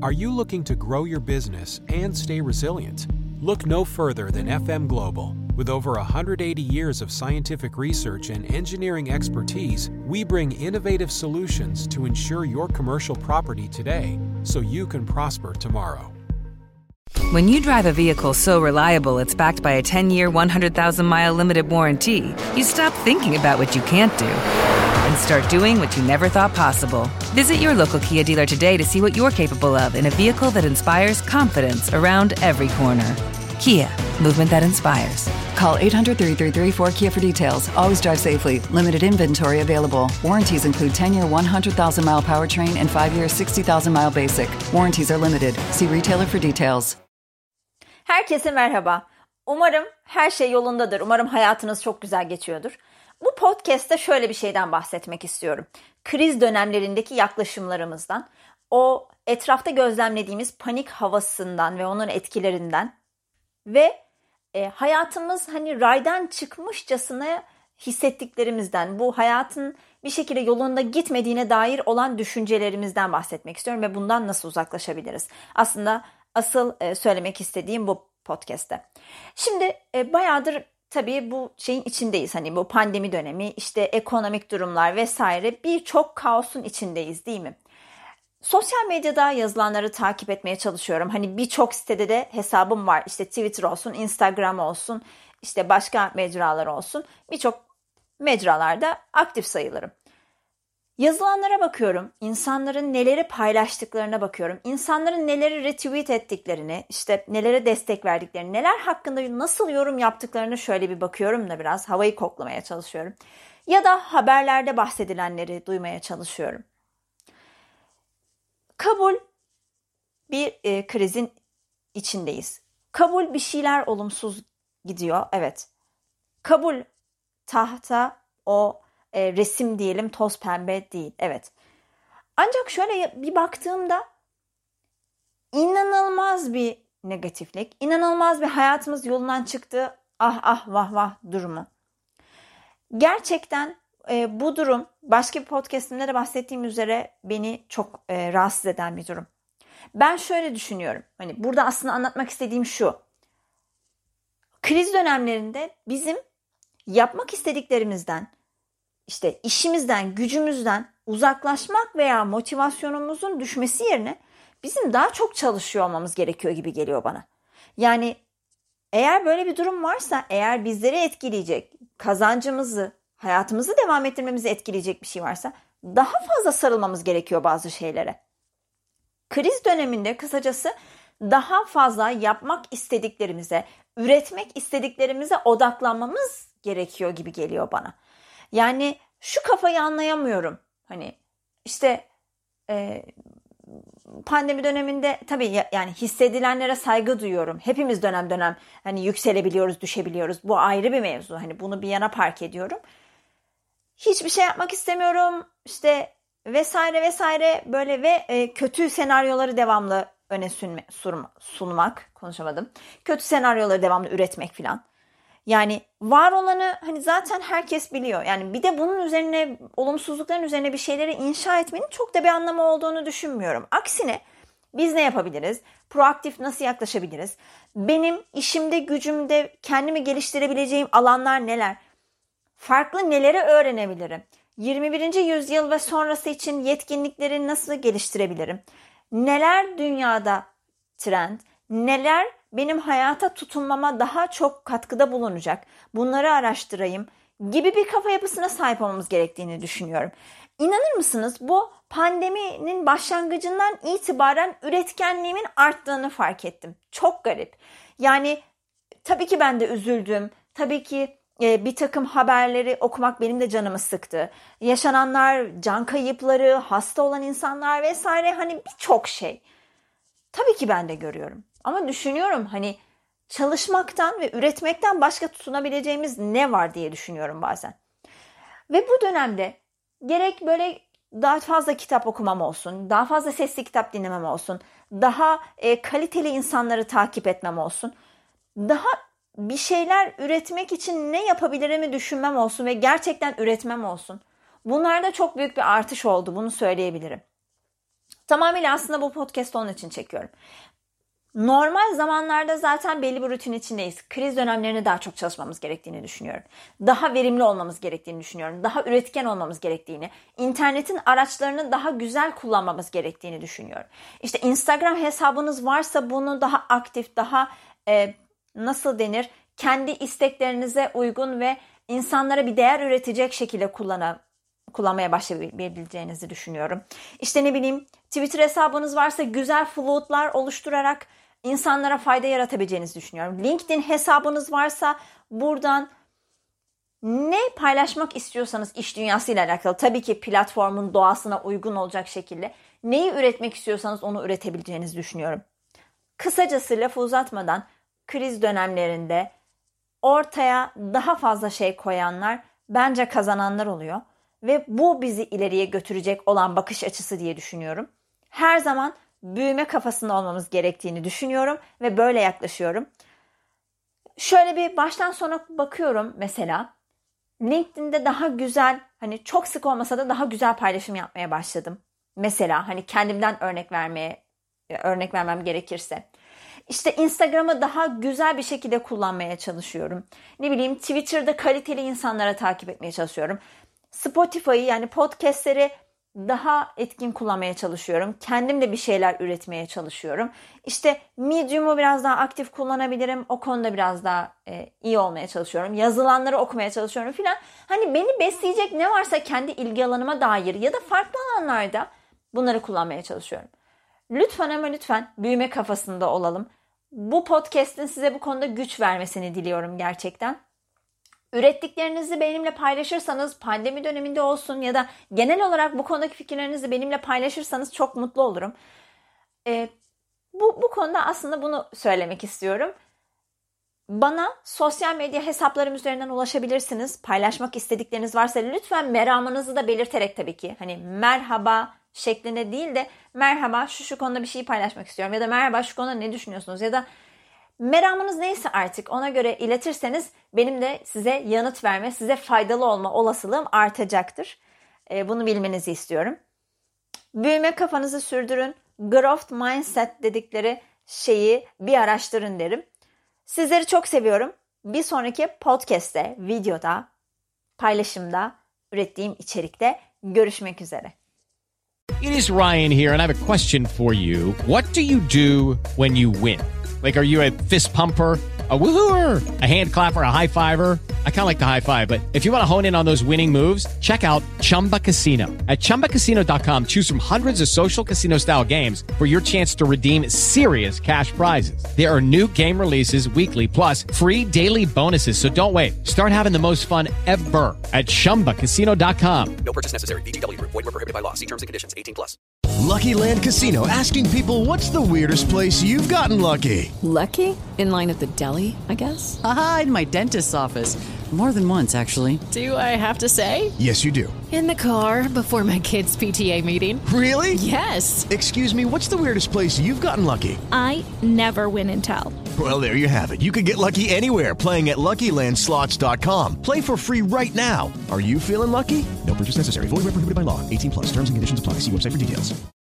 Are you looking to grow your business and stay resilient? Look no further than FM Global. With over 180 years of scientific research and engineering expertise, we bring innovative solutions to ensure your commercial property today so you can prosper tomorrow. When you drive a vehicle so reliable it's backed by a 10-year, 100,000-mile limited warranty, you stop thinking about what you can't do and start doing what you never thought possible. Visit your local Kia dealer today to see what you're capable of in a vehicle that inspires confidence around every corner. Kia, movement that inspires. Call 800-333-4KIA for details. Always drive safely. Limited inventory available. Warranties include 10-year 100,000-mile powertrain and 5-year 60,000-mile basic. Warranties are limited. See retailer for details. Herkese merhaba. Umarım her şey yolundadır. Umarım hayatınız çok güzel geçiyordur. Bu podcast'te şöyle bir şeyden bahsetmek istiyorum. Kriz dönemlerindeki yaklaşımlarımızdan, o etrafta gözlemlediğimiz panik havasından ve onun etkilerinden ve hayatımız hani raydan çıkmışçasına hissettiklerimizden, bu hayatın bir şekilde yolunda gitmediğine dair olan düşüncelerimizden bahsetmek istiyorum ve bundan nasıl uzaklaşabiliriz? Aslında asıl söylemek istediğim bu podcast'te. Şimdi bayağıdır tabii bu şeyin içindeyiz. Hani bu pandemi dönemi, işte ekonomik durumlar vesaire, birçok kaosun içindeyiz değil mi? Sosyal medyada yazılanları takip etmeye çalışıyorum. Hani birçok sitede de hesabım var. İşte Twitter olsun, Instagram olsun, işte başka mecralar olsun. Birçok mecralarda aktif sayılırım. Yazılanlara bakıyorum. İnsanların neleri paylaştıklarına bakıyorum. İnsanların neleri retweet ettiklerini, işte nelere destek verdiklerini, neler hakkında nasıl yorum yaptıklarını şöyle bir bakıyorum da biraz havayı koklamaya çalışıyorum. Ya da haberlerde bahsedilenleri duymaya çalışıyorum. Kabul, bir krizin içindeyiz. Kabul, bir şeyler olumsuz gidiyor. Evet. Kabul, tahta o resim diyelim toz pembe değil. Evet. Ancak şöyle bir baktığımda inanılmaz bir negatiflik, inanılmaz bir hayatımız yolundan çıktı. Ah ah vah vah durumu. Gerçekten bu durum başka bir podcastimde de bahsettiğim üzere beni çok rahatsız eden bir durum. Ben şöyle düşünüyorum. Hani burada aslında anlatmak istediğim şu. Kriz dönemlerinde bizim yapmak istediklerimizden, işte işimizden, gücümüzden uzaklaşmak veya motivasyonumuzun düşmesi yerine bizim daha çok çalışıyor olmamız gerekiyor gibi geliyor bana. Yani eğer böyle bir durum varsa, eğer bizleri etkileyecek, kazancımızı, hayatımızı devam ettirmemizi etkileyecek bir şey varsa daha fazla sarılmamız gerekiyor bazı şeylere. Kriz döneminde kısacası daha fazla yapmak istediklerimize, üretmek istediklerimize odaklanmamız gerekiyor gibi geliyor bana. Yani şu kafayı anlayamıyorum. Hani işte pandemi döneminde tabii yani hissedilenlere saygı duyuyorum. Hepimiz dönem dönem hani yükselebiliyoruz, düşebiliyoruz. Bu ayrı bir mevzu. Hani bunu bir yana park ediyorum. Hiçbir şey yapmak istemiyorum. İşte vesaire vesaire böyle ve kötü senaryoları devamlı öne sunmak. Konuşamadım. Kötü senaryoları devamlı üretmek filan. Yani var olanı hani zaten herkes biliyor. Yani bir de bunun üzerine, olumsuzlukların üzerine bir şeyleri inşa etmenin çok da bir anlamı olduğunu düşünmüyorum. Aksine biz ne yapabiliriz? Proaktif nasıl yaklaşabiliriz? Benim işimde, gücümde kendimi geliştirebileceğim alanlar neler? Farklı neleri öğrenebilirim? 21. yüzyıl ve sonrası için yetkinlikleri nasıl geliştirebilirim? Neler dünyada trend? Neler benim hayata tutunmama daha çok katkıda bulunacak? Bunları araştırayım gibi bir kafa yapısına sahip olmamız gerektiğini düşünüyorum. İnanır mısınız, bu pandeminin başlangıcından itibaren üretkenliğimin arttığını fark ettim. Çok garip. Yani tabii ki ben de üzüldüm. Tabii ki bir takım haberleri okumak benim de canımı sıktı. Yaşananlar, can kayıpları, hasta olan insanlar vesaire, hani birçok şey. Tabii ki ben de görüyorum. Ama düşünüyorum hani çalışmaktan ve üretmekten başka tutunabileceğimiz ne var diye düşünüyorum bazen. Ve bu dönemde gerek böyle daha fazla kitap okumam olsun, daha fazla sesli kitap dinlemem olsun, daha kaliteli insanları takip etmem olsun, daha bir şeyler üretmek için ne yapabilirimi düşünmem olsun ve gerçekten üretmem olsun. Bunlarda çok büyük bir artış oldu, bunu söyleyebilirim. Tamamıyla aslında bu podcast'ı onun için çekiyorum. Normal zamanlarda zaten belli bir rutin içindeyiz. Kriz dönemlerinde daha çok çalışmamız gerektiğini düşünüyorum. Daha verimli olmamız gerektiğini düşünüyorum. Daha üretken olmamız gerektiğini, internetin araçlarını daha güzel kullanmamız gerektiğini düşünüyorum. İşte Instagram hesabınız varsa bunu daha aktif, daha kendi isteklerinize uygun ve insanlara bir değer üretecek şekilde kullanmaya başlayabileceğinizi düşünüyorum. İşte Twitter hesabınız varsa güzel floatlar oluşturarak insanlara fayda yaratabileceğinizi düşünüyorum. LinkedIn hesabınız varsa buradan ne paylaşmak istiyorsanız iş dünyasıyla alakalı, tabii ki platformun doğasına uygun olacak şekilde neyi üretmek istiyorsanız onu üretebileceğinizi düşünüyorum. Kısacası lafı uzatmadan kriz dönemlerinde ortaya daha fazla şey koyanlar bence kazananlar oluyor. Ve bu bizi ileriye götürecek olan bakış açısı diye düşünüyorum. Her zaman büyüme kafasında olmamız gerektiğini düşünüyorum ve böyle yaklaşıyorum. Şöyle bir baştan sona bakıyorum mesela. LinkedIn'de daha güzel, çok sık olmasa da daha güzel paylaşım yapmaya başladım. Mesela kendimden örnek vermem gerekirse. İşte Instagram'ı daha güzel bir şekilde kullanmaya çalışıyorum. Twitter'da kaliteli insanlara takip etmeye çalışıyorum. Spotify'ı podcastleri daha etkin kullanmaya çalışıyorum. Kendim de bir şeyler üretmeye çalışıyorum. İşte Medium'u biraz daha aktif kullanabilirim. O konuda biraz daha iyi olmaya çalışıyorum. Yazılanları okumaya çalışıyorum filan. Beni besleyecek ne varsa kendi ilgi alanıma dair ya da farklı alanlarda bunları kullanmaya çalışıyorum. Lütfen ama lütfen büyüme kafasında olalım. Bu podcast'in size bu konuda güç vermesini diliyorum gerçekten. Ürettiklerinizi benimle paylaşırsanız, pandemi döneminde olsun ya da genel olarak bu konudaki fikirlerinizi benimle paylaşırsanız çok mutlu olurum. Bu konuda aslında bunu söylemek istiyorum. Bana sosyal medya hesaplarım üzerinden ulaşabilirsiniz. Paylaşmak istedikleriniz varsa lütfen meramınızı da belirterek tabii ki. Merhaba şeklinde değil de merhaba şu konuda bir şey paylaşmak istiyorum ya da merhaba şu konuda ne düşünüyorsunuz ya da meramınız neyse artık ona göre iletirseniz benim de size yanıt verme, size faydalı olma olasılığım artacaktır. Bunu bilmenizi istiyorum. Büyüme kafanızı sürdürün. Growth mindset dedikleri şeyi bir araştırın derim. Sizleri çok seviyorum. Bir sonraki podcast'te, videoda, paylaşımda, ürettiğim içerikte görüşmek üzere. It is Ryan here, and I have a question for you. What do you do when you win? Are you a fist pumper, a woo-hooer, a hand clapper, a high-fiver? I kind of like the high-five, but if you want to hone in on those winning moves, check out Chumba Casino. At ChumbaCasino.com, choose from hundreds of social casino-style games for your chance to redeem serious cash prizes. There are new game releases weekly, plus free daily bonuses, so don't wait. Start having the most fun ever at ChumbaCasino.com. No purchase necessary. VGW Group. Void where prohibited by law. See terms and conditions. 18+. Lucky Land Casino, asking people, what's the weirdest place you've gotten lucky? Lucky? In line at the deli, I guess? Aha, in my dentist's office. More than once, actually. Do I have to say? Yes, you do. In the car before my kids' PTA meeting. Really? Yes. Excuse me, what's the weirdest place you've gotten lucky? I never win and tell. Well, there you have it. You can get lucky anywhere, playing at LuckyLandSlots.com. Play for free right now. Are you feeling lucky? No purchase necessary. Void where prohibited by law. 18+. Terms and conditions apply. See website for details.